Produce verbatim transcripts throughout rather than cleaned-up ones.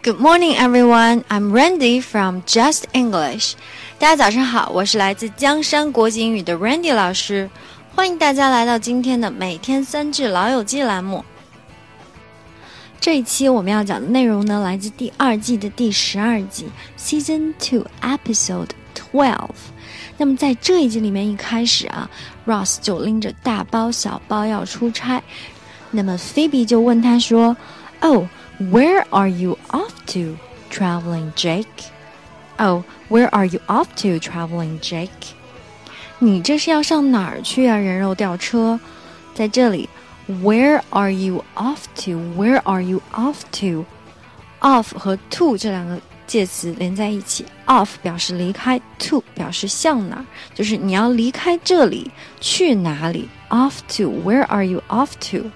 Good morning, everyone. I'm Randy from Just English. 大家早上好，我是来自江山国际英语的 Randy 老师，欢迎大家来到今天的每天三句老友记栏目。这一期我们要讲的内容呢，来自第二季的第十二集 Season two Episode twelve。那么在这一集里面一开始啊 Ross 就拎着大包小包要出差，那么 Phoebe 就问他说 Oh, where are you off to, traveling Jake? Oh, where are you off to, traveling Jake? 你这是要上哪儿去啊，人肉吊车？在这里 Where are you off to? Where are you off to? Off 和 to 这两个介词连在一起， off 表示离开， to 表示向哪儿，就是你要离开这里去哪里。 Off to, where are you off to?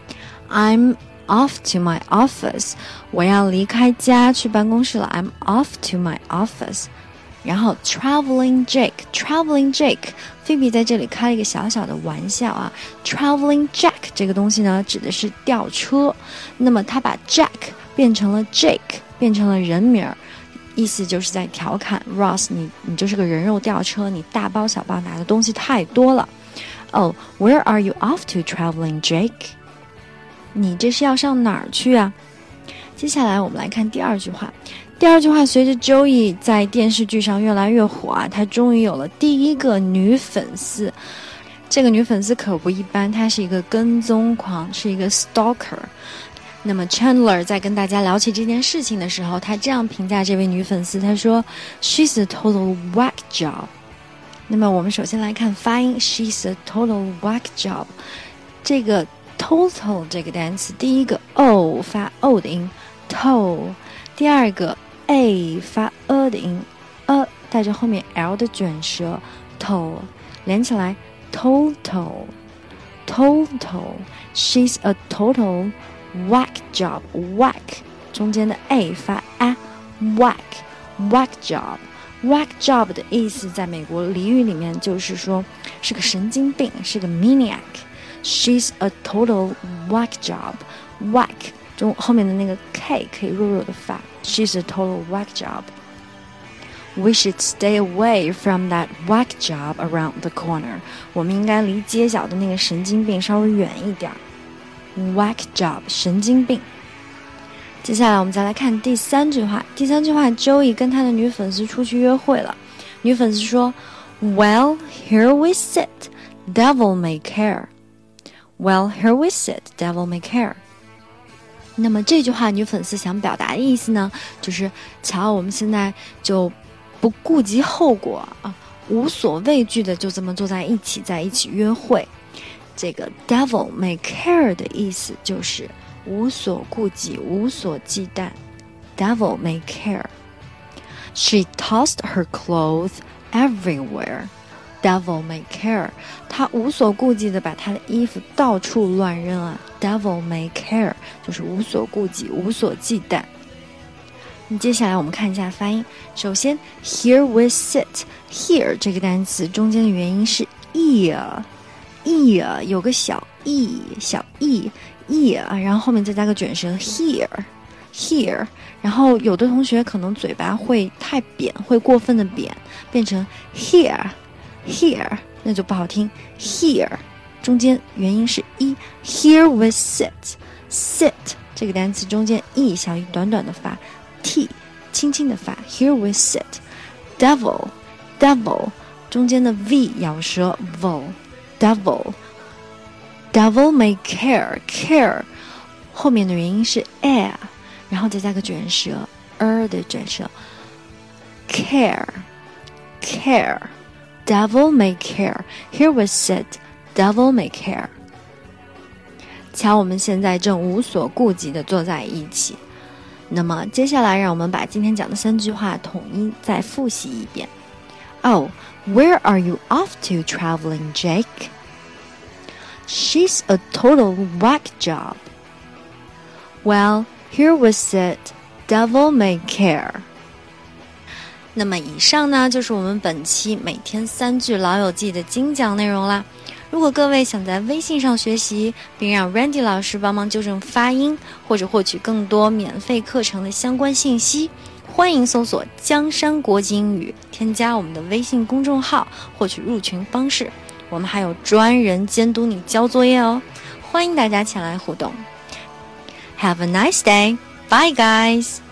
I'm off to my office. 我要离开家去办公室了。 I'm off to my office. 然后 traveling Jake, traveling Jake, Phoebe 在这里开了一个小小的玩笑啊。traveling Jack 这个东西呢，指的是吊车，那么他把 Jack 变成了 Jake， 变成了人名，意思就是在调侃 Ross 你你就是个人肉吊车，你大包小包拿的东西太多了。 Oh, where are you off to, traveling Jake? 你这是要上哪儿去啊？接下来我们来看第二句话。第二句话，随着 Joey 在电视剧上越来越火啊，她终于有了第一个女粉丝。这个女粉丝可不一般，她是一个跟踪狂，是一个 stalker。那么 Chandler 在跟大家聊起这件事情的时候，他这样评价这位女粉丝，他说 She's a total whack job。 那么我们首先来看发音， She's a total whack job。 这个 total 这个单词，第一个 o 发 o 的音 to， 第二个 a 发 a 的音 a 带着后面 l 的卷舌 to 连起来 total total She's a total whack job. Whack 中间的 a 发 a whack whack job whack job 的意思在美国俚语里面就是说是个神经病，是个 maniac。 She's a total whack job. Whack 中后面的那个 k 可以弱弱的发， She's a total whack job. We should stay away from that whack job around the corner. 我们应该离街角的那个神经病稍微远一点。Whack job 神经病。接下来我们再来看第三句话。第三句话 Joey 跟他的女粉丝出去约会了，女粉丝说 Well, here we sit, devil may care. Well, here we sit, devil may care. 那么这句话女粉丝想表达的意思呢，就是瞧我们现在就不顾及后果啊，无所畏惧的就这么坐在一起，在一起约会。这个 devil may care 的意思就是无所顾忌，无所忌惮。 Devil may care. She tossed her clothes everywhere. Devil may care. 她无所顾忌的把她的衣服到处乱扔啊。 Devil may care 就是无所顾忌，无所忌惮。接下来我们看一下发音。首先 here we sit, here 这个单词中间的元音是 ear ear 有个小 e 小 e ear， 然后后面再加个卷舌 here here， 然后有的同学可能嘴巴会太扁，会过分的扁，变成 here here 那就不好听。 here 中间元音是 e， here we sit sit 这个单词中间 e 小 e 短短的发， t 轻轻的发， here we sit。 devil devil 中间的 v 咬舌 vol devil devil may care care 后面的元音是 air， 然后再加个卷舌 er 的卷舌 care care devil may care. Here we sit, devil may care. 瞧我们现在正无所顾忌地坐在一起。那么接下来让我们把今天讲的三句话统一再复习一遍。 Oh, where are you off to, traveling Jake? She's a total whack job. Well, here we sit, devil may care. 那么以上呢就是我们本期每天三句老友记的精讲内容啦。 如果各位想在微信上学习，并让 Randy 老师帮忙纠正发音，或者获取更多免费课程的相关信息，欢迎搜索江山国际英语，添加我们的微信公众号，获取入群方式。我们还有专人监督你交作业哦，欢迎大家前来互动。Have a nice day. Bye, guys.